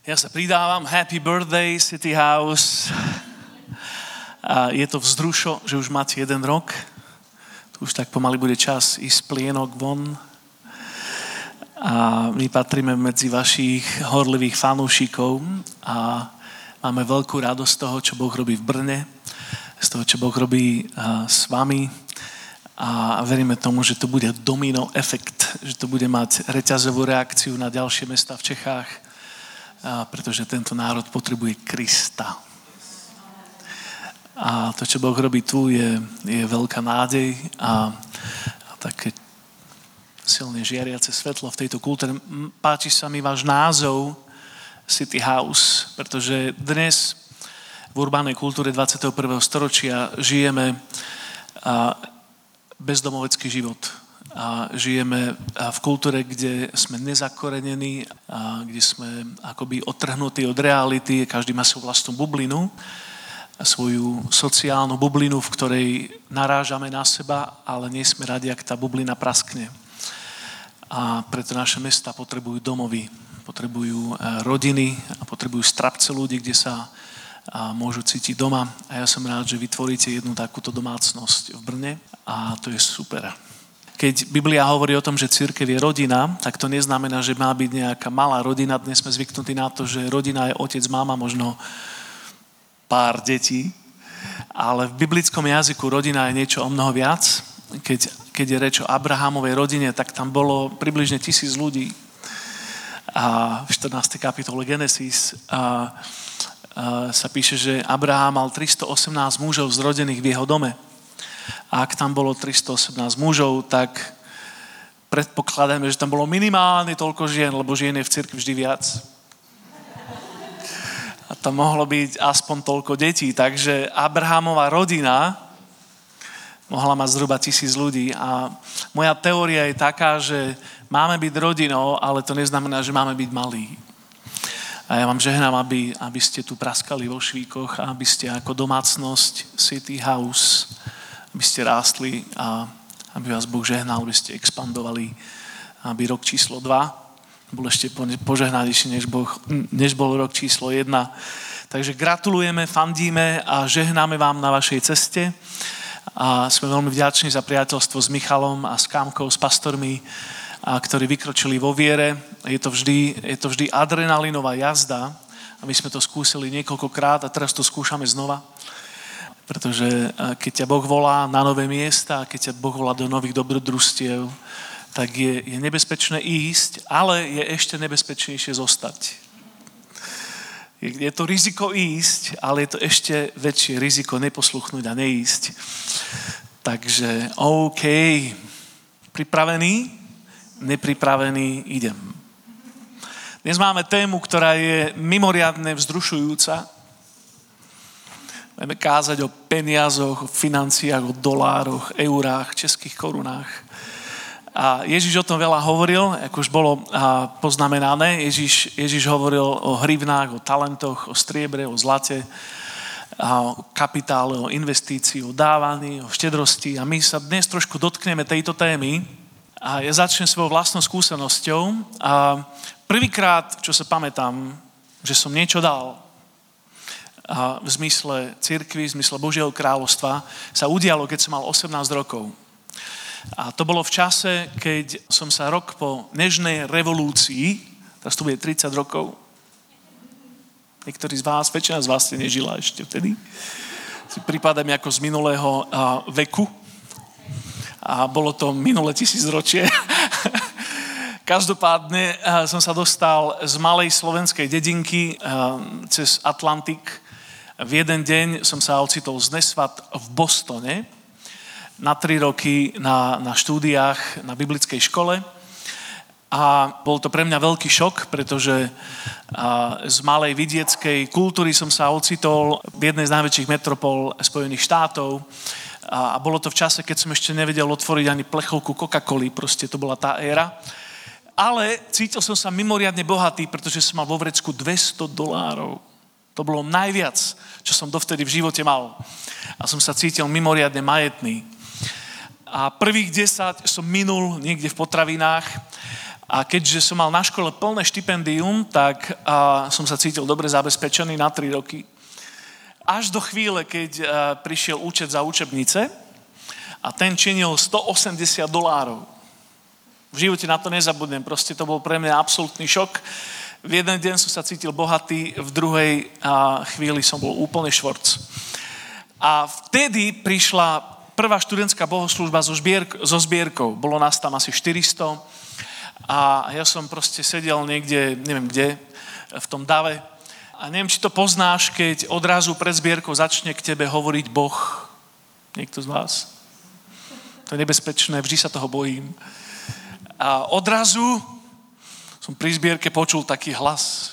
Ja sa pridávam, happy birthday City House. A je to vzrušo, že už máte 1 rok. Tu už tak pomaly bude čas ísť plienok von. A my patríme medzi vašich horlivých fanúšikov a máme veľkú radosť z toho, čo Boh robí v Brne, z toho, čo Boh robí s vami. A veríme tomu, že to bude domino efekt, že to bude mať reťazovú reakciu na ďalšie mestá v Čechách, pretože tento národ potrebuje Krista. A to, čo Boh robí tu, je veľká nádej a také silne žiariace svetlo v tejto kultúre. Páči sa mi váš názov City House, pretože dnes v urbánnej kultúre 21. storočia žijeme bezdomovecký život. A žijeme v kultúre, kde sme nezakorenení, kde sme akoby odtrhnutí od reality, každý má svoju vlastnú bublinu, svoju sociálnu bublinu, v ktorej narážame na seba, ale nie sme radi, ak tá bublina praskne. A preto naše mesta potrebujú domovy, potrebujú rodiny a potrebujú strapce ľudí, kde sa môžu cítiť doma. A ja som rád, že vytvoríte jednu takúto domácnosť v Brne a to je super. Keď Biblia hovorí o tom, že cirkev je rodina, tak to neznamená, že má byť nejaká malá rodina. Dnes sme zvyknutí na to, že rodina je otec, mama, možno pár detí. Ale v biblickom jazyku rodina je niečo o mnoho viac. Keď je reč o Abrahamovej rodine, tak tam bolo približne 1000 ľudí. A v 14. kapitole Genesis sa píše, že Abraham mal 318 mužov zrodených v jeho dome. A ak tam bolo 318 mužov, tak predpokladáme, že tam bolo minimálne toľko žien, lebo žien je v cirkvi vždy viac. A tam mohlo byť aspoň toľko detí. Takže Abrahamová rodina mohla mať zhruba 1000 ľudí. A moja teória je taká, že máme byť rodinou, ale to neznamená, že máme byť malí. A ja vám žehnám, aby ste tu praskali vo švíkoch a aby ste ako domácnosť City House, aby ste rástli a aby vás Boh žehnal, aby ste expandovali, aby rok číslo 2 bol ešte požehnanejší, než bol rok číslo 1. Takže gratulujeme, fandíme a žehnáme vám na vašej ceste. A sme veľmi vďační za priateľstvo s Michalom a s Kámkou, s pastormi, ktorí vykročili vo viere. Je to vždy adrenalinová jazda a my sme to skúsili niekoľkokrát a teraz to skúšame znova. Pretože keď ťa Boh volá na nové miesta, keď ťa Boh volá do nových dobrodružstiev, tak je nebezpečné ísť, ale je ešte nebezpečnejšie zostať. Je to riziko ísť, ale je to ešte väčšie riziko neposluchnúť a neísť. Takže OK, pripravený? Nepripravený, idem. Dnes máme tému, ktorá je mimoriadne vzrušujúca. Budeme kázať o peniazoch, o financiách, o dolároch, eurách, českých korunách. A Ježiš o tom veľa hovoril, ako už bolo poznamenané. Ježiš hovoril o hrivnách, o talentoch, o striebre, o zlate, o kapitále, o investícii, o dávaní, o štedrosti. A my sa dnes trošku dotkneme tejto témy. A ja začnem svojou vlastnou skúsenosťou. A prvýkrát, čo sa pamätám, že som niečo dal, a v zmysle cirkvi, v zmysle Božieho kráľovstva, sa udialo, keď som mal 18 rokov. A to bolo v čase, keď som sa rok po nežnej revolúcii, teraz to bude 30 rokov, niektorí z vás, väčšina z vás ste nežila ešte vtedy, si pripadám ako z minulého veku a bolo to minulé 1000 ročie. Každopádne som sa dostal z malej slovenskej dedinky cez Atlantik. V jeden deň som sa ocitol z Nesvat v Bostone na 3 roky na štúdiách na biblickej škole. A bol to pre mňa veľký šok, pretože z malej vidieckej kultúry som sa ocitol v jednej z najväčších metropol Spojených štátov. A bolo to v čase, keď som ešte nevedel otvoriť ani plechovku Coca-Coly, proste to bola tá éra. Ale cítil som sa mimoriadne bohatý, pretože som mal vo vrecku $200. To bolo najviac, čo som dovtedy v živote mal. A som sa cítil mimoriadne majetný. A prvých 10 som minul niekde v potravinách A keďže som mal na škole plné štipendium, tak som sa cítil dobre zabezpečený na 3 roky. Až do chvíle, keď prišiel účet za učebnice a ten činil $180. V živote na to nezabudnem, proste to bol pre mňa absolútny šok. V jeden deň som sa cítil bohatý, v druhej chvíli som bol úplne švorc. A vtedy prišla prvá študentská bohoslúžba so zbierkou. Bolo nás tam asi 400 a ja som proste sedel niekde, neviem kde, v tom dave. A neviem, či to poznáš, keď odrazu pred zbierkou začne k tebe hovoriť Boh. Niekto z vás? To je nebezpečné, vždy sa toho bojím. A odrazu som pri zbierke počul taký hlas,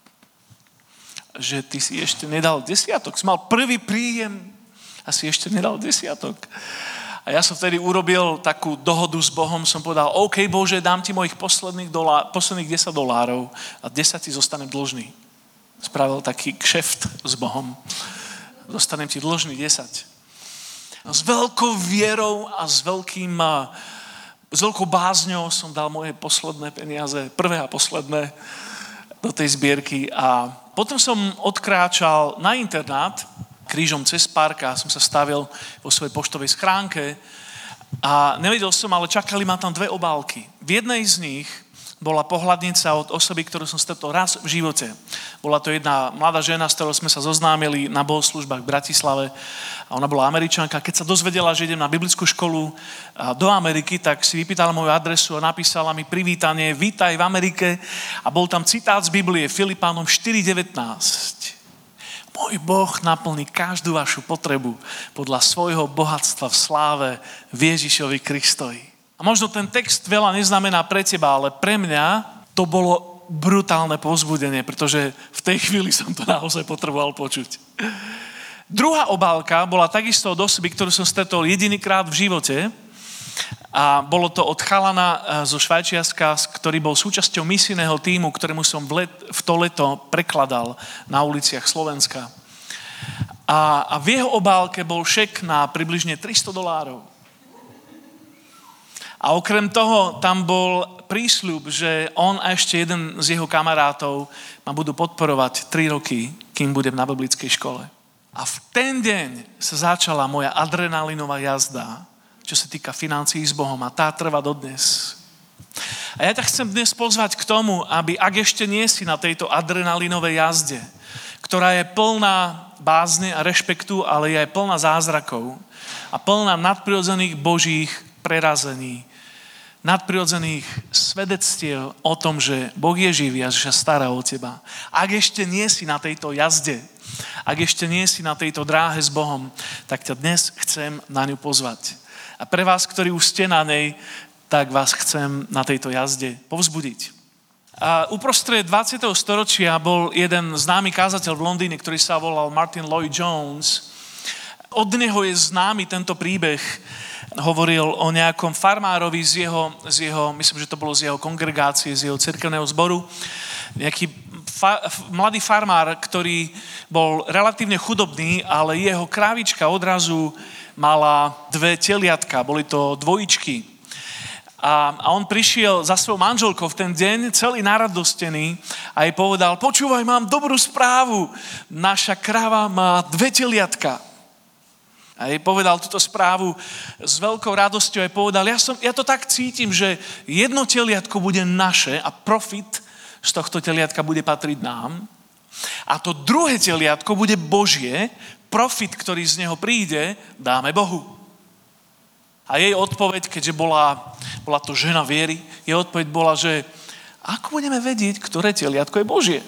že ty si ešte nedal desiatok. Si mal prvý príjem a si ešte nedal desiatok. A ja som vtedy urobil takú dohodu s Bohom, som povedal, OK Bože, dám ti mojich posledných $10 a 10 ti zostanem dlžný. Spravil taký kšeft s Bohom. Zostanem ti dlžný 10. A s veľkou vierou a s veľkou bázňou som dal moje posledné peniaze, prvé a posledné, do tej zbierky a potom som odkráčal na internát krížom cez park a som sa stavil vo svojej poštovej schránke a nevedel som, ale čakali ma tam 2 obálky. V jednej z nich bola pohľadnica od osoby, ktorú som stretol raz v živote. Bola to jedna mladá žena, s ktorou sme sa zoznámili na bohoslúžbách v Bratislave a ona bola Američanka. Keď sa dozvedela, že idem na biblickú školu do Ameriky, tak si vypýtala moju adresu a napísala mi privítanie, vítaj v Amerike a bol tam citát z Biblie Filipánom 4.19. Môj Boh naplní každú vašu potrebu podľa svojho bohatstva v sláve v Ježišovi Kristovi. A možno ten text veľa neznamená pre teba, ale pre mňa to bolo brutálne povzbudenie, pretože v tej chvíli som to naozaj potreboval počuť. Druhá obálka bola takisto od osoby, ktorú som stretol jedinýkrát v živote a bolo to od chalana zo Švajčiarska, ktorý bol súčasťou misijného tímu, ktorému som v to leto prekladal na uliciach Slovenska. A v jeho obálke bol šek na približne $300. A okrem toho tam bol prísľub, že on a ešte jeden z jeho kamarátov ma budú podporovať 3 roky, kým budem na biblickej škole. A v ten deň sa začala moja adrenalinová jazda, čo sa týka financií s Bohom a tá trvá dodnes. A ja ťa chcem dnes pozvať k tomu, aby ak ešte nie si na tejto adrenalinovej jazde, ktorá je plná bázne a rešpektu, ale je aj plná zázrakov a plná nadprirodzených božích prerazení, nadprirodzených svedectiev o tom, že Boh je živý a že sa stará o teba. Ak ešte nie si na tejto jazde, ak ešte nie si na tejto dráhe s Bohom, tak ťa dnes chcem na ňu pozvať. A pre vás, ktorí už ste na nej, tak vás chcem na tejto jazde povzbudiť. A uprostred 20. storočia bol jeden známy kázateľ v Londýne, ktorý sa volal Martin Lloyd-Jones. Od neho je známy tento príbeh. Hovoril o nejakom farmárovi z jeho, myslím, že to bolo z jeho kongregácie, z jeho cirkevného zboru. Nejaký mladý farmár, ktorý bol relatívne chudobný, ale jeho krávička odrazu mala 2 teliatka, boli to dvojičky. A on prišiel za svojou manželkou v ten deň, celý naradostený a jej povedal, počúvaj, mám dobrú správu, naša krava má 2 teliatka. A jej povedal túto správu s veľkou radosťou a povedal, ja to tak cítim, že jedno teliatko bude naše a profit z tohto teliatka bude patriť nám. A to druhé teliatko bude Božie, profit, ktorý z neho príde, dáme Bohu. A jej odpoveď, keďže bola to žena viery, jej odpoveď bola, že ako budeme vedieť, ktoré teliatko je Božie?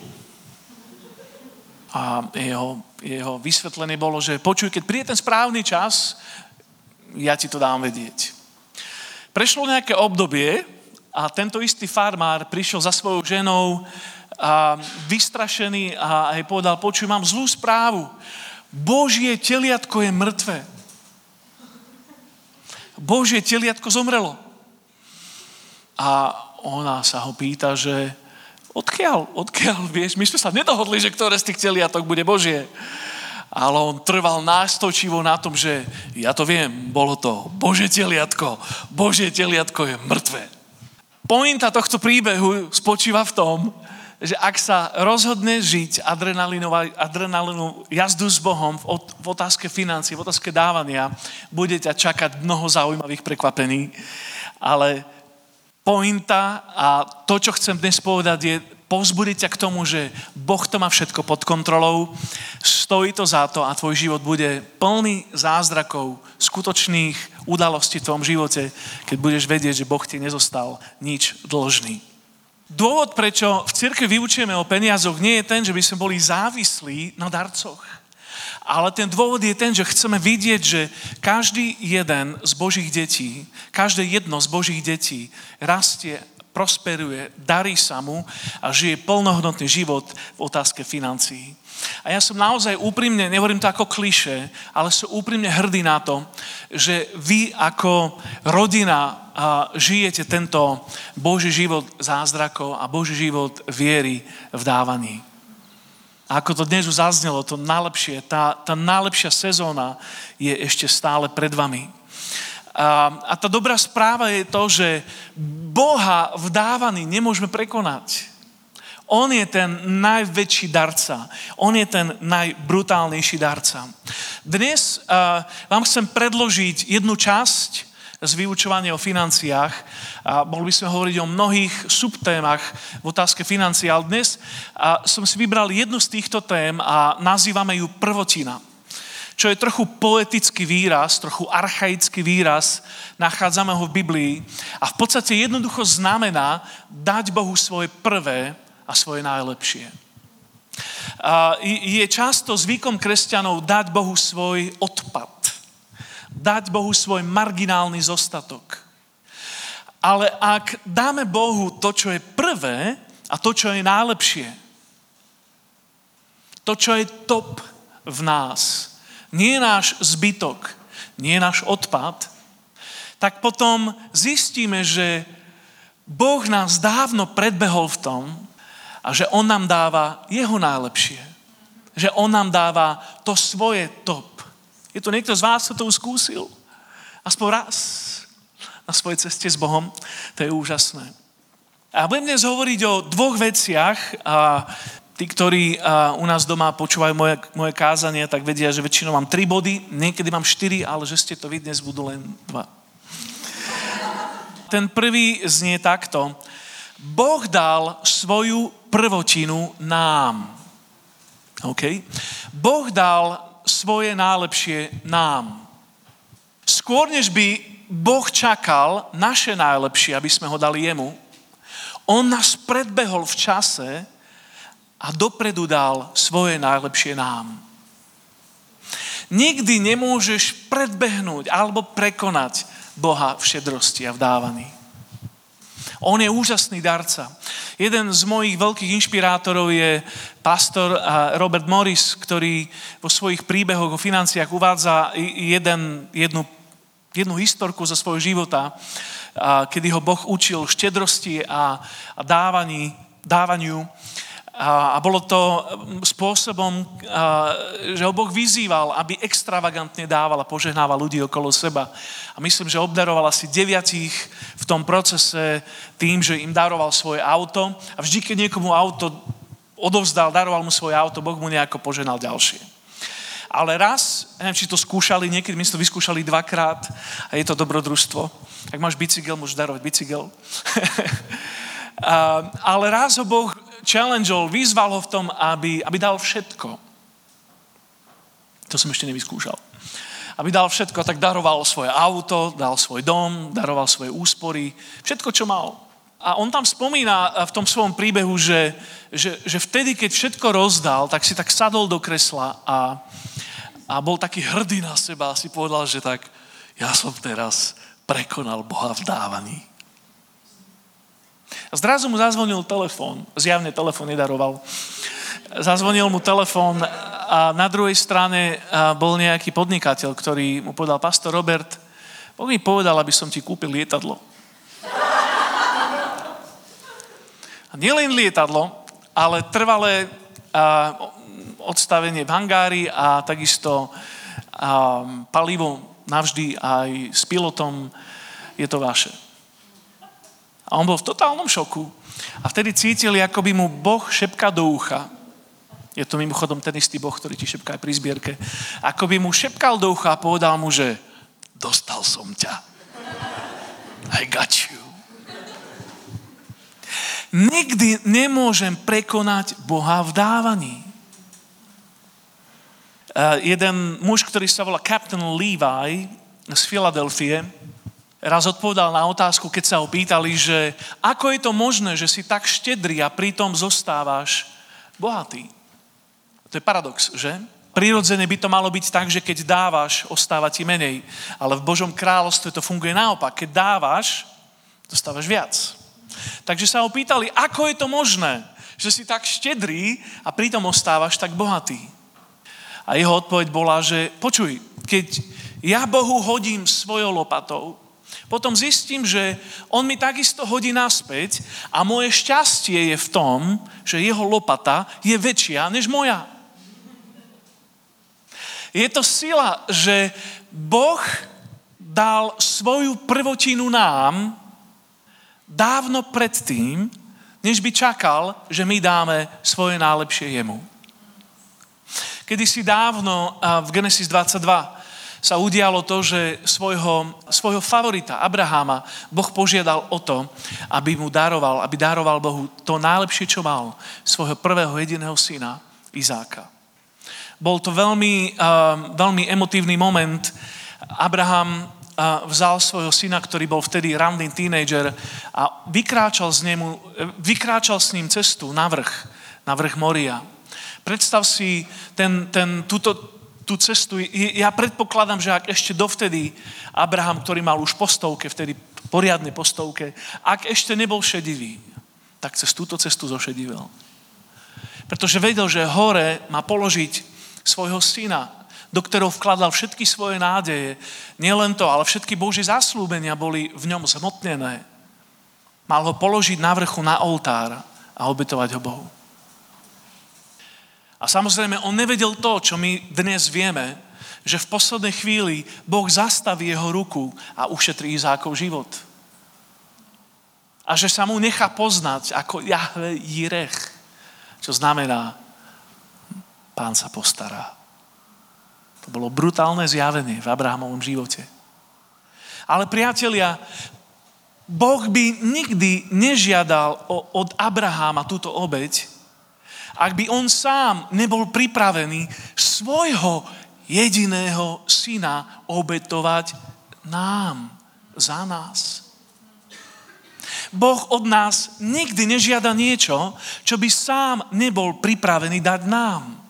A jeho vysvetlenie bolo, že počuj, keď príde ten správny čas, ja ti to dám vedieť. Prešlo nejaké obdobie a tento istý farmár prišiel za svojou ženou vystrašený a jej povedal, počuj, mám zlú správu. Božie teliatko je mŕtve. Božie teliatko zomrelo. A ona sa ho pýta, že odkiaľ, vieš, my sme sa nedohodli, že ktoré z tých teliatok bude Božie. Ale on trval nástočivo na tom, že ja to viem, bolo to Božie teliatko je mŕtve. Pointa tohto príbehu spočíva v tom, že ak sa rozhodne žiť adrenalinovú jazdu s Bohom v otázke financií, v otázke dávania, bude ťa čakať mnoho zaujímavých prekvapení. Ale pointa a to, čo chcem dnes povedať, je povzbudiť ťa k tomu, že Boh to má všetko pod kontrolou, stojí to za to a tvoj život bude plný zázrakov, skutočných udalostí v tvojom živote, keď budeš vedieť, že Boh ti nezostal nič dlžný. Dôvod, prečo v cirkvi vyučujeme o peniazoch, nie je ten, že by sme boli závislí na darcoch. Ale ten dôvod je ten, že chceme vidieť, že každý jeden z Božích detí, každé jedno z Božích detí rastie, prosperuje, darí sa mu a žije plnohodnotný život v otázke financií. A ja som naozaj úprimne, nehovorím to ako klišé, ale som úprimne hrdý na to, že vy ako rodina žijete tento Boží život zázrakov a Boží život viery v dávaní. A ako to dnes už zaznelo, to najlepšie, tá najlepšia sezóna je ešte stále pred vami. A tá dobrá správa je to, že Boha v dávaní nemôžeme prekonať. On je ten najväčší darca. On je ten najbrutálnejší darca. Dnes vám chcem predložiť jednu časť z vyučovania o financiách. Mohli by sme hovoriť o mnohých subtémach v otázke financií, ale dnes som si vybral jednu z týchto tém a nazývame ju prvotina. Čo je trochu poetický výraz, trochu archaický výraz, nachádzame ho v Biblii a v podstate jednoducho znamená dať Bohu svoje prvé a svoje najlepšie. Je často zvykom kresťanov dať Bohu svoj odpad. Dať Bohu svoj marginálny zostatok. Ale ak dáme Bohu to, čo je prvé a to, čo je najlepšie, to, čo je top v nás, nie je náš zbytok, nie je náš odpad, tak potom zistíme, že Boh nás dávno predbehol v tom, a že on nám dáva jeho najlepšie. Že on nám dáva to svoje top. Je to niekto z vás, kto to už skúsil? Aspoň raz na svojej ceste s Bohom. To je úžasné. A budem dnes hovoriť o dvoch veciach. A tí, ktorí u nás doma počúvajú moje kázanie, tak vedia, že väčšinou mám 3 body. Niekedy mám 4, ale že ste to vy, dnes budú len 2. Ten prvý znie takto. Boh dal svoju prvotinu nám. OK? Boh dal svoje najlepšie nám. Skôr, než by Boh čakal naše najlepšie, aby sme ho dali jemu, on nás predbehol v čase a dopredu dal svoje najlepšie nám. Nikdy nemôžeš predbehnúť alebo prekonať Boha v šedrosti a v dávaní. On je úžasný darca. Jeden z mojich veľkých inšpirátorov je pastor Robert Morris, ktorý vo svojich príbehoch o financiách uvádza jednu historku zo svojho života, kedy ho Boh učil štedrosti a dávaniu. A bolo to spôsobom, že ho Boh vyzýval, aby extravagantne dával a požehnával ľudí okolo seba. A myslím, že obdaroval asi 9 v tom procese tým, že im daroval svoje auto. A vždy, keď niekomu auto odovzdal, daroval mu svoje auto, Boh mu nejako požehnal ďalšie. Ale raz, neviem, či to skúšali, niekedy my sme to vyskúšali 2-krát a je to dobrodružstvo. Ak máš bicykel, môžeš darovať bicykel. Ale raz ho Boh challengeol, vyzval ho v tom, aby dal všetko. To som ešte nevyskúšal. Aby dal všetko, tak daroval svoje auto, dal svoj dom, daroval svoje úspory, všetko, čo mal. A on tam spomína v tom svojom príbehu, že vtedy, keď všetko rozdal, tak si tak sadol do kresla a bol taký hrdý na seba a si povedal, že tak, ja som teraz prekonal Boha v dávaní. A zrazu mu zazvonil telefón. Zjavne telefón nedaroval. Zazvonil mu telefón a na druhej strane bol nejaký podnikateľ, ktorý mu povedal, pastor Robert, Boh mi povedal, aby som ti kúpil lietadlo. A nielen lietadlo, ale trvalé odstavenie v hangári a takisto palivo navždy aj s pilotom je to vaše. A on bol v totálnom šoku. A vtedy cítili, ako by mu Boh šepká do ucha. Je to mimochodom ten istý Boh, ktorý ti šepká aj pri zbierke. Ako by mu šepkal do ucha a povedal mu, že dostal som ťa. I got you. Nikdy nemôžem prekonať Boha v dávaní. Jeden muž, ktorý sa volá Captain Levi z Filadelfie, raz odpovedal na otázku, keď sa ho pýtali, že ako je to možné, že si tak štedrý a pritom zostávaš bohatý. To je paradox, že? Prirodzene by to malo byť tak, že keď dávaš, ostáva ti menej. Ale v Božom kráľovstve to funguje naopak. Keď dávaš, dostávaš viac. Takže sa ho pýtali, ako je to možné, že si tak štedrý a pritom ostávaš tak bohatý. A jeho odpoveď bola, že počuj, keď ja Bohu hodím svojou lopatou, potom zistím, že on mi takisto hodí naspäť a moje šťastie je v tom, že jeho lopata je väčšia než moja. Je to sila, že Boh dal svoju prvotinu nám dávno predtým, než by čakal, že my dáme svoje najlepšie jemu. Kedysi dávno v Genesis 22 sa udialo to, že svojho favorita Abraháma Boh požiadal o to, aby daroval Bohu to najlepšie, čo mal, svojho prvého jediného syna Izáka. Bol to veľmi emotívny moment. Abraham vzal svojho syna, ktorý bol vtedy ranný tínedžer a vykráčal s ním cestu na vrch Moria. Predstav si tú cestu. Ja predpokladám, že ak ešte dovtedy Abraham, ktorý mal už po stovke, vtedy poriadne po stovke, ak ešte nebol šedivý, tak cez túto cestu zošedivel. Pretože vedel, že hore má položiť svojho syna, do ktorého vkladal všetky svoje nádeje. Nielen to, ale všetky Božie zasľúbenia boli v ňom zhmotnené. Mal ho položiť na vrchu, na oltár a obetovať ho Bohu. A samozrejme, on nevedel to, čo my dnes vieme, že v poslednej chvíli Boh zastaví jeho ruku a ušetrí Izákov život. A že sa mu nechá poznať ako Jahve Jirech, čo znamená Pán sa postará. To bolo brutálne zjavenie v Abrahamovom živote. Ale priatelia, Boh by nikdy nežiadal od Abraháma túto obeť, ak by on sám nebol pripravený svojho jediného syna obetovať nám, za nás. Boh od nás nikdy nežiada niečo, čo by sám nebol pripravený dať nám.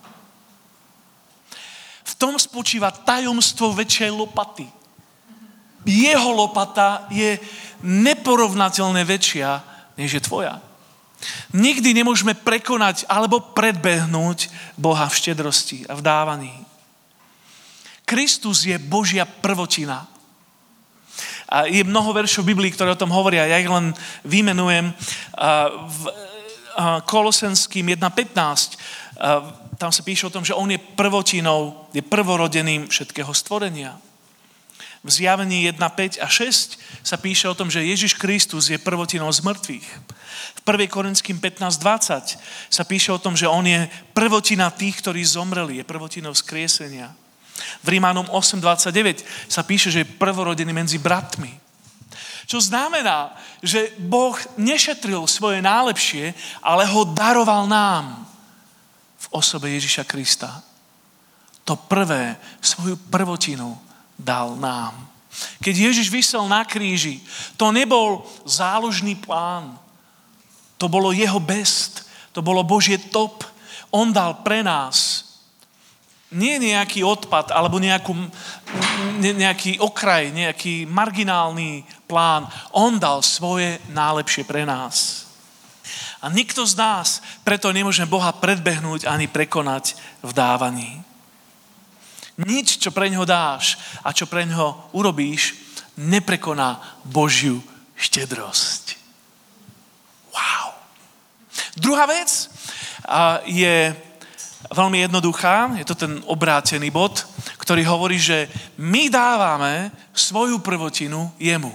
V tom spočíva tajomstvo väčšej lopaty. Jeho lopata je neporovnateľne väčšia, než je tvoja. Nikdy nemôžeme prekonať alebo predbehnúť Boha v štedrosti a v dávaní. Kristus je Božia prvotina. A je mnoho veršov v Biblii, ktoré o tom hovoria. Ja ich len vymenujem. V Kolosenským 1.15 tam sa píše o tom, že on je prvotinou, je prvorodeným všetkého stvorenia. V Zjavení 1.5 a 6 sa píše o tom, že Ježiš Kristus je prvotinou z mŕtvych. V 1. Korinským 15.20 sa píše o tom, že on je prvotina tých, ktorí zomreli, je prvotinou vzkriesenia. V Rímanom 8.29 sa píše, že je prvorodený medzi bratmi. Čo znamená, že Boh nešetril svoje najlepšie, ale ho daroval nám v osobe Ježiša Krista. To prvé, svoju prvotinu dal nám. Keď Ježiš visel na kríži, to nebol záložný plán. To bolo jeho best. To bolo Božie top. On dal pre nás nie nejaký odpad alebo nejaký okraj, nejaký marginálny plán. On dal svoje najlepšie pre nás. A nikto z nás preto nemôže Boha predbehnúť ani prekonať v dávaní. Nič, čo pre ňoho dáš a čo pre ňoho urobíš, neprekoná Božiu štedrosť. Wow. Druhá vec je veľmi jednoduchá. Je to ten obrátený bod, ktorý hovorí, že my dávame svoju prvotinu jemu.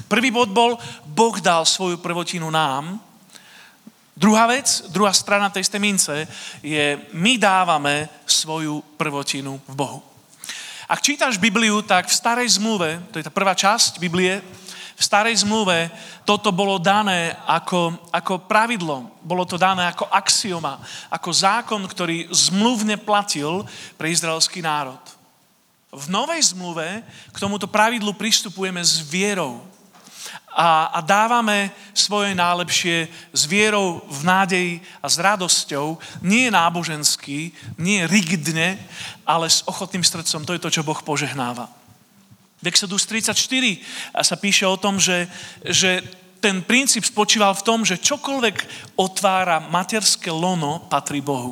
Prvý bod bol, Boh dal svoju prvotinu nám. Druhá vec, druhá strana tej istej mince je, my dávame svoju prvotinu v Bohu. Ak čítaš Bibliu, tak v starej zmluve, to je tá prvá časť Biblie, v starej zmluve toto bolo dané ako pravidlo, bolo to dané ako axioma, ako zákon, ktorý zmluvne platil pre izraelský národ. V novej zmluve k tomuto pravidlu pristupujeme s vierou a dávame svoje najlepšie s vierou, v nádeji a s radosťou, nie nábožensky, nie rigidne, ale s ochotným srdcom. To je to, čo Boh požehnáva. V Exodus 34 sa píše o tom, že ten princíp spočíval v tom, že čokoľvek otvára materské lono, patrí Bohu.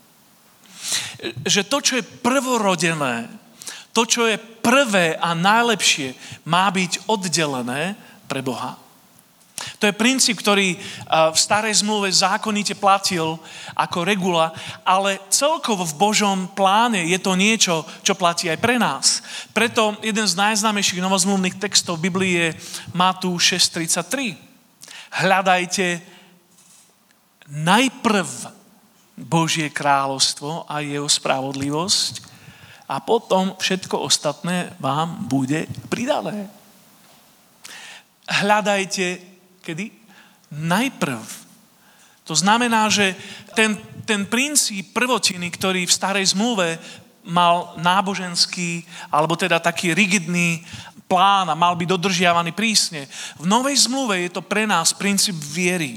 Že to, čo je prvorodené, to, čo je prvé a najlepšie, má byť oddelené pre Boha. To je princíp, ktorý v starej zmluve zákonite platil ako regula, ale celkovo v Božom pláne je to niečo, čo platí aj pre nás. Preto jeden z najznámejších novozmluvných textov v Biblii je Matúš 6:33. Hľadajte najprv Božie kráľovstvo a jeho spravodlivosť a potom všetko ostatné vám bude pridané. Hľadajte, kedy? Najprv. To znamená, že ten princíp prvotiny, ktorý v starej zmluve mal náboženský, alebo teda taký rigidný plán a mal byť dodržiavaný prísne, v novej zmluve je to pre nás princíp viery.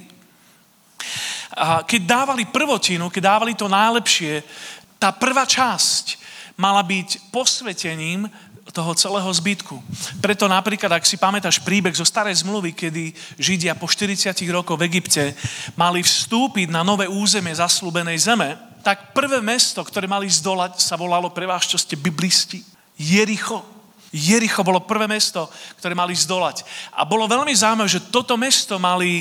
A keď dávali prvotinu, keď dávali to najlepšie, tá prvá časť mala byť posvetením toho celého zbytku. Preto napríklad, ak si pamätáš príbeh zo starej zmluvy, kedy Židia po 40 rokoch v Egypte mali vstúpiť na nové územie zasľúbenej zeme, tak prvé mesto, ktoré mali zdolať, sa volalo, pre vás, čo ste biblisti, Jericho. Jericho bolo prvé mesto, ktoré mali zdolať. A bolo veľmi zaujímavé, že toto mesto mali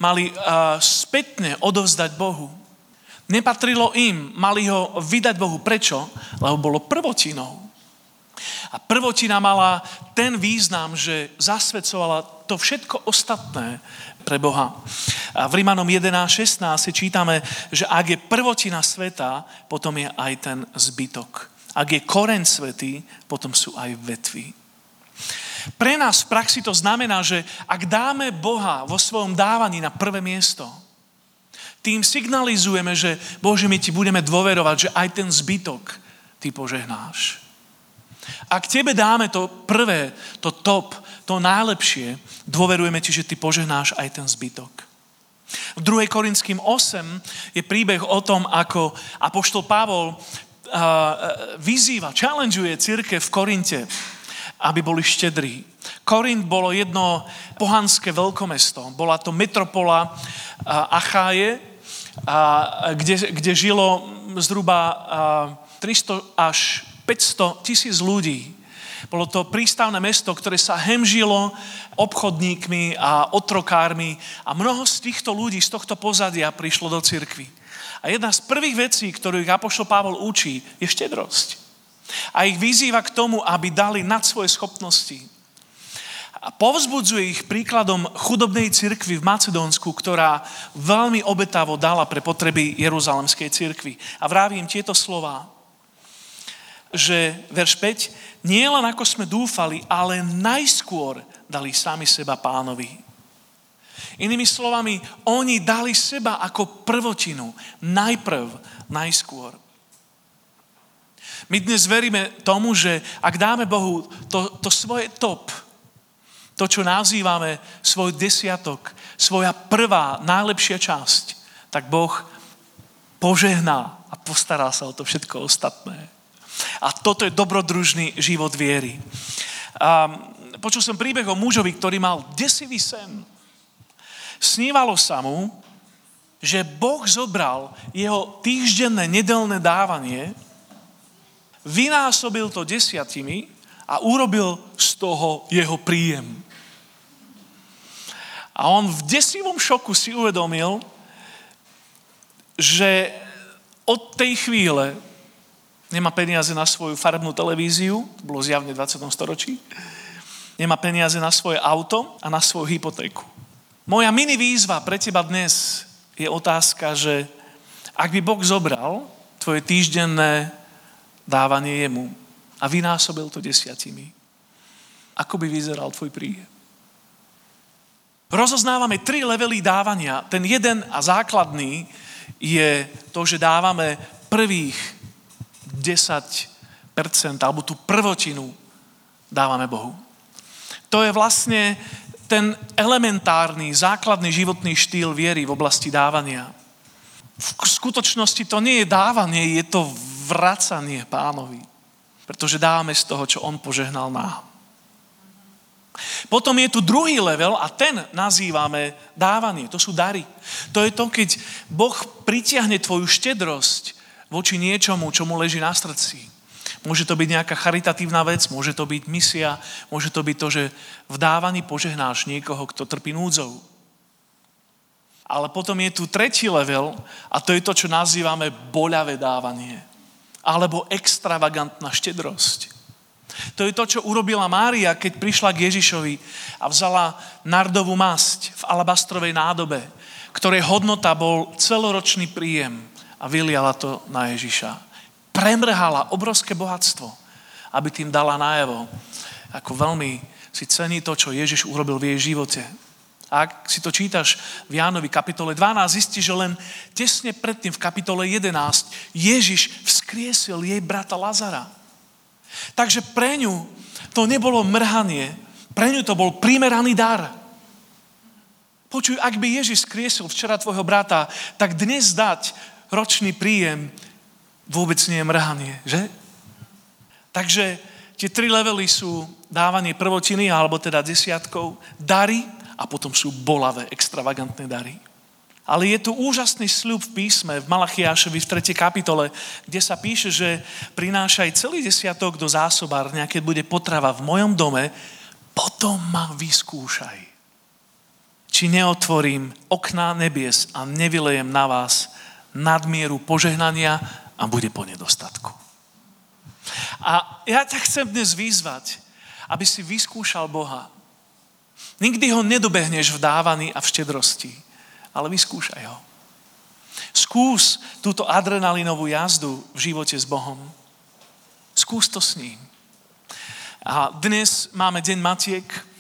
spätne odovzdať Bohu. Nepatrilo im, mali ho vydať Bohu. Prečo? Lebo bolo prvotinou. A prvotina mala ten význam, že zasvedcovala to všetko ostatné pre Boha. A v Rimanom 11:16 si čítame, že ak je prvotina sveta, potom je aj ten zbytok. Ak je koreň svätý, potom sú aj vetvy. Pre nás v praxi to znamená, že ak dáme Boha vo svojom dávaní na prvé miesto, tým signalizujeme, že Bože, my ti budeme dôverovať, že aj ten zbytok ty požehnáš. Ak tebe dáme to prvé, to top, to najlepšie, dôverujeme ti, že ty požehnáš aj ten zbytok. V 2. Korinským 8 je príbeh o tom, ako apoštol Pavol vyzýva, challengeuje cirkev v Korinte, aby boli štedrí. Korint bolo jedno pohanské veľkomesto. Bola to metropola Acháje, kde žilo zhruba 300 až 500 000 ľudí. Bolo to prístavné mesto, ktoré sa hemžilo obchodníkmi a otrokármi a mnoho z týchto ľudí, z tohto pozadia prišlo do cirkvi. A jedna z prvých vecí, ktorú ich apoštol Pavol učí, je štedrosť. A ich vyzýva k tomu, aby dali nad svoje schopnosti. A povzbudzuje ich príkladom chudobnej cirkvi v Macedónsku, ktorá veľmi obetavo dala pre potreby Jeruzalemskej cirkvi. A vraví im tieto slová, že verš 5, nie len ako sme dúfali, ale najskôr dali sami seba Pánovi. Inými slovami, oni dali seba ako prvotinu, najskôr. My dnes veríme tomu, že ak dáme Bohu to svoje top, to, čo nazývame svoj desiatok, svoja prvá, najlepšia časť, tak Boh požehná a postará sa o to všetko ostatné. A toto je dobrodružný život viery. Počul som príbeh o mužovi, ktorý mal desivý sen. Snívalo sa mu, že Boh zobral jeho týždenné nedeľné dávanie, vynásobil to 10 a urobil z toho jeho príjem. A on v desivom šoku si uvedomil, že od tej chvíle nemá peniaze na svoju farebnú televíziu, to bolo zjavne v 20. storočí, Nemá peniaze na svoje auto a na svoju hypotéku. Moja mini výzva pre teba dnes je otázka, že ak by Boh zobral tvoje týždenné dávanie jemu a vynásobil to 10, ako by vyzeral tvoj príjem? Rozoznávame 3 levely dávania. Ten jeden a základný je to, že dávame prvých 10% alebo tú prvotinu dávame Bohu. To je vlastne ten elementárny, základný životný štýl viery v oblasti dávania. V skutočnosti to nie je dávanie, je to vracanie Pánovi. Pretože dávame z toho, čo on požehnal nám. Potom je tu druhý level a ten nazývame dávanie. To sú dary. To je to, keď Boh pritiahne tvoju štedrosť voči niečomu, čo mu leží na srdci. Môže to byť nejaká charitatívna vec, môže to byť misia, môže to byť to, že v dávaní požehnáš niekoho, kto trpí núdzou. Ale potom je tu tretí level a to je to, čo nazývame boľavé dávanie. Alebo extravagantná štedrosť. To je to, čo urobila Mária, keď prišla k Ježišovi a vzala nardovú masť v alabastrovej nádobe, ktorej hodnota bol celoročný príjem a vyliala to na Ježiša. Premrhala obrovské bohatstvo, aby tým dala najavo, ako veľmi si cení to, čo Ježiš urobil v jej živote. A ak si to čítaš v Jánovi kapitole 12, zistíš, že len tesne predtým v kapitole 11 Ježiš vzkriesil jej brata Lazara. Takže pre ňu to nebolo mrhanie, pre ňu to bol primeraný dar. Počuj, ak by Ježiš vzkriesil včera tvojho brata, tak dnes dať ročný príjem vôbec nie je mrhanie, že? Takže tie 3 levely sú dávanie prvotiny, alebo teda 10, dary a potom sú bolavé, extravagantné dary. Ale je tu úžasný sľub v písme, v Malachiášovi v 3. kapitole, kde sa píše, že prinášaj celý 10 do zásobárne, keď bude potrava v mojom dome, potom ma vyskúšaj. Či neotvorím okná nebies a nevylejem na vás nadmieru požehnania a bude po nedostatku. A ja ťa chcem dnes vyzvať, aby si vyskúšal Boha. Nikdy ho nedobehneš v dávaní a v štedrosti, ale vyskúšaj ho. Skús túto adrenalinovú jazdu v živote s Bohom. Skús to s ním. A dnes máme Deň matiek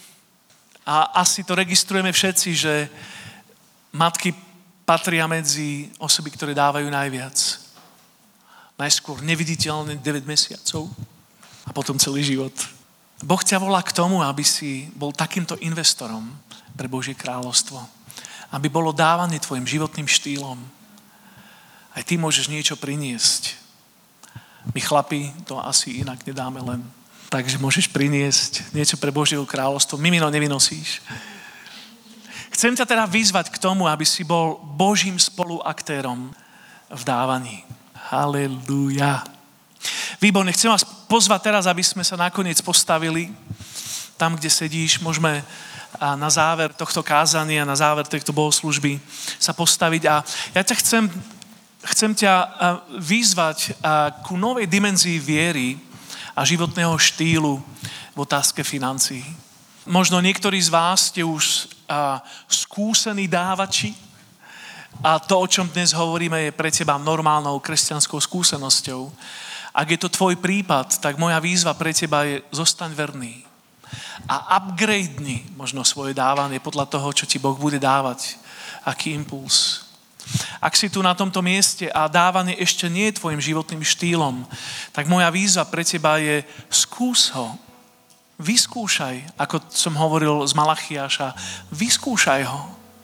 a asi to registrujeme všetci, že matky patria medzi osoby, ktoré dávajú najviac. Najskôr neviditeľne 9 mesiacov a potom celý život. Boh ťa volá k tomu, aby si bol takýmto investorom pre Božie kráľovstvo. Aby bolo dávanie tvojim životným štýlom. Aj ty môžeš niečo priniesť. My chlapi to asi inak nedáme len. Takže môžeš priniesť niečo pre Božie kráľovstvo. Mimino nevynosíš. Chcem ťa teda vyzvať k tomu, aby si bol Božím spoluaktérom v dávaní. Halelúja. Výborne, chcem vás pozvať teraz, aby sme sa nakoniec postavili tam, kde sedíš. Môžeme na záver tohto kázania, na záver tejto bohoslúžby sa postaviť. A ja ťa chcem ťa vyzvať ku novej dimenzii viery a životného štýlu v otázke financií. Možno niektorí z vás ste už skúsení dávači, a to, o čom dnes hovoríme, je pre teba normálnou kresťanskou skúsenosťou. Ak je to tvoj prípad, tak moja výzva pre teba je zostaň verný. A upgradenni možno svoje dávanie podľa toho, čo ti Boh bude dávať. Aký impuls. Ak si tu na tomto mieste a dávanie ešte nie je tvojim životným štýlom, tak moja výzva pre teba je skús ho. Vyskúšaj, ako som hovoril z Malachiáša, vyskúšaj ho.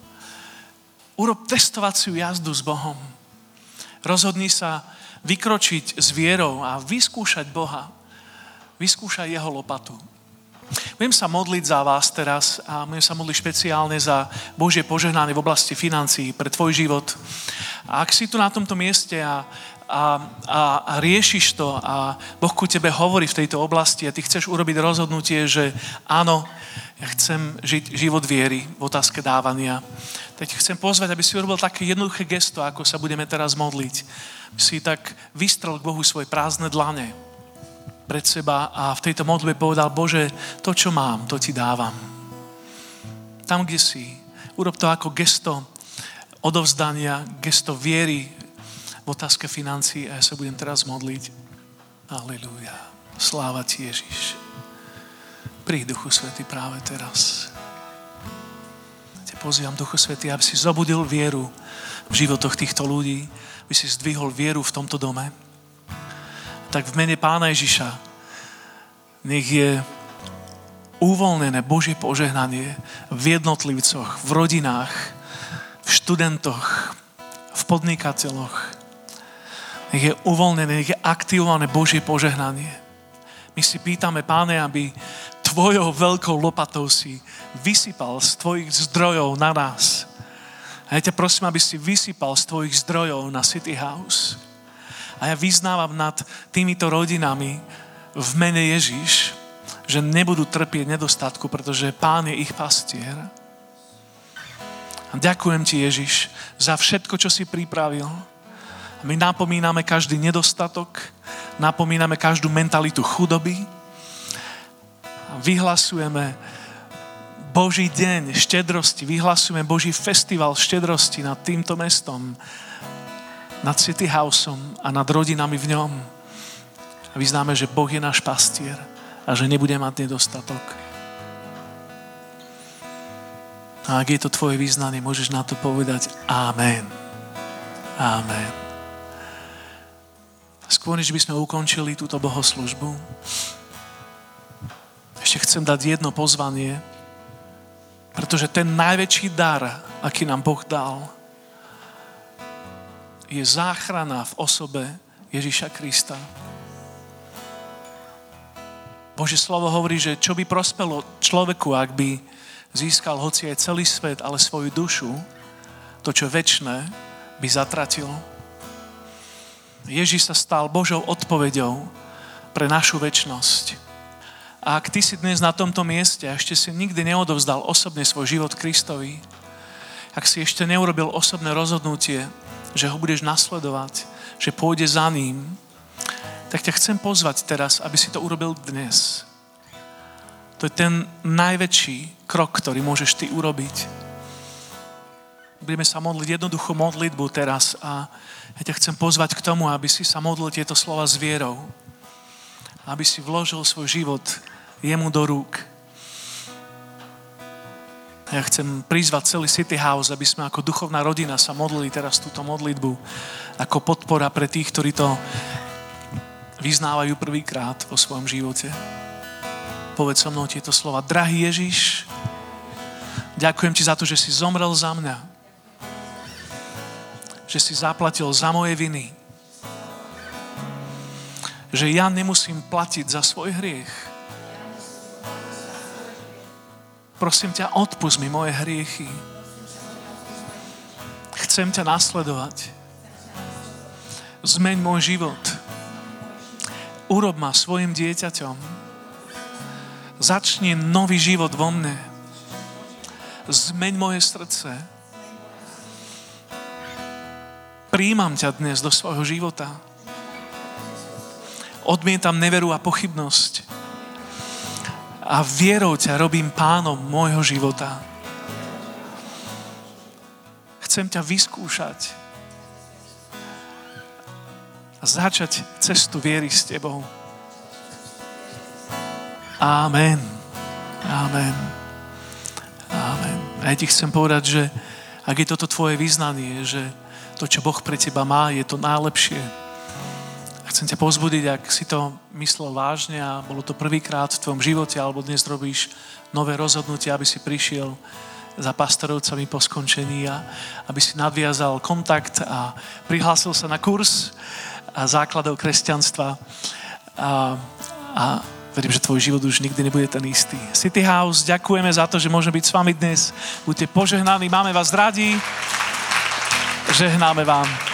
Urob testovaciu jazdu s Bohom. Rozhodni sa vykročiť s vierou a vyskúšať Boha. Vyskúšaj jeho lopatu. Budem sa modliť za vás teraz a budem sa modliť špeciálne za Božie požehnanie v oblasti financií pre tvoj život. A ak si tu na tomto mieste a riešiš to a Boh ku tebe hovorí v tejto oblasti a ty chceš urobiť rozhodnutie, že áno, ja chcem žiť život viery v otázke dávania, tak chcem pozvať, aby si urobil také jednoduché gesto, ako sa budeme teraz modliť. Si tak vystrel k Bohu svoje prázdne dlane. pred seba a v tejto modlitbe povedal, Bože, to, čo mám, to ti dávam. Tam, kde si, urob to ako gesto odovzdania, gesto viery v otázke financií a ja sa budem teraz modliť. Halelúja. Sláva ti, Ježiš. Príď, Duchu Svätý, práve teraz. Te pozývam, Duchu Svätý, aby si zobudil vieru v životoch týchto ľudí, aby si zdvihol vieru v tomto dome. Tak v mene Pána Ježiša nech je uvoľnené Božie požehnanie v jednotlivcoch, v rodinách, v študentoch, v podnikateľoch. Nech je uvoľnené, nech je aktivované Božie požehnanie. My si pýtame, Páne, aby tvojou veľkou lopatou si vysypal z tvojich zdrojov na nás. A ja ťa prosím, aby si vysypal z tvojich zdrojov na City House. A ja vyznávam nad týmito rodinami v mene Ježiš, že nebudú trpieť nedostatku, pretože Pán je ich pastier. A ďakujem ti, Ježiš, za všetko, čo si pripravil. My napomíname každý nedostatok, napomíname každú mentalitu chudoby a vyhlasujeme Boží deň štedrosti, vyhlasujeme Boží festival štedrosti nad týmto mestom, nad City Houseom a nad rodinami v ňom. A vyznáme, že Boh je náš pastier a že nebude mať nedostatok. A ak je to tvoje vyznanie, môžeš na to povedať Amen. Amen. Skôr, než by sme ukončili túto bohoslužbu, ešte chcem dať jedno pozvanie, pretože ten najväčší dar, aký nám Boh dal, je záchrana v osobe Ježiša Krista. Božie slovo hovorí, že čo by prospelo človeku, ak by získal hoci aj celý svet, ale svoju dušu, to, čo večné, by zatratil. Ježiš sa stal Božou odpoveďou pre našu večnosť. A ak ty si dnes na tomto mieste a ešte si nikdy neodovzdal osobne svoj život Kristovi, ak si ešte neurobil osobné rozhodnutie, že ho budeš nasledovať, že pôjde za ním, tak ťa chcem pozvať teraz, aby si to urobil dnes. To je ten najväčší krok, ktorý môžeš ty urobiť. Budeme sa modliť jednoduchú modlitbu teraz a ja ťa chcem pozvať k tomu, aby si sa modlil tieto slova s vierou. Aby si vložil svoj život jemu do rúk. Ja chcem prizvať celý City House, aby sme ako duchovná rodina sa modlili teraz túto modlitbu ako podpora pre tých, ktorí to vyznávajú prvýkrát vo svojom živote. Povedz so mnou tieto slova. Drahý Ježiš, ďakujem ti za to, že si zomrel za mňa. Že si zaplatil za moje viny. Že ja nemusím platiť za svoj hriech. Prosím ťa, odpusť mi moje hriechy. Chcem ťa nasledovať. Zmeň môj život. Urob ma svojim dieťaťom. Začni nový život vo mne. Zmeň moje srdce. Prijímam ťa dnes do svojho života. Odmietam neveru a pochybnosť. A vierou ťa robím pánom môjho života. Chcem ťa vyskúšať. A začať cestu viery s tebou. Amen. Amen. Amen. A ja ti chcem povedať, že ak je toto tvoje vyznanie, že to, čo Boh pre teba má, je to najlepšie. A chcem ťa povzbudiť, ak si to myslel vážne a bolo to prvýkrát v tvojom živote, alebo dnes robíš nové rozhodnutie, aby si prišiel za pastorovcami po skončení a aby si nadviazal kontakt a prihlásil sa na kurz základov kresťanstva. A verím, že tvoj život už nikdy nebude ten istý. City House, ďakujeme za to, že môžeme byť s vami dnes. Buďte požehnaní, máme vás radi. Žehnáme vám.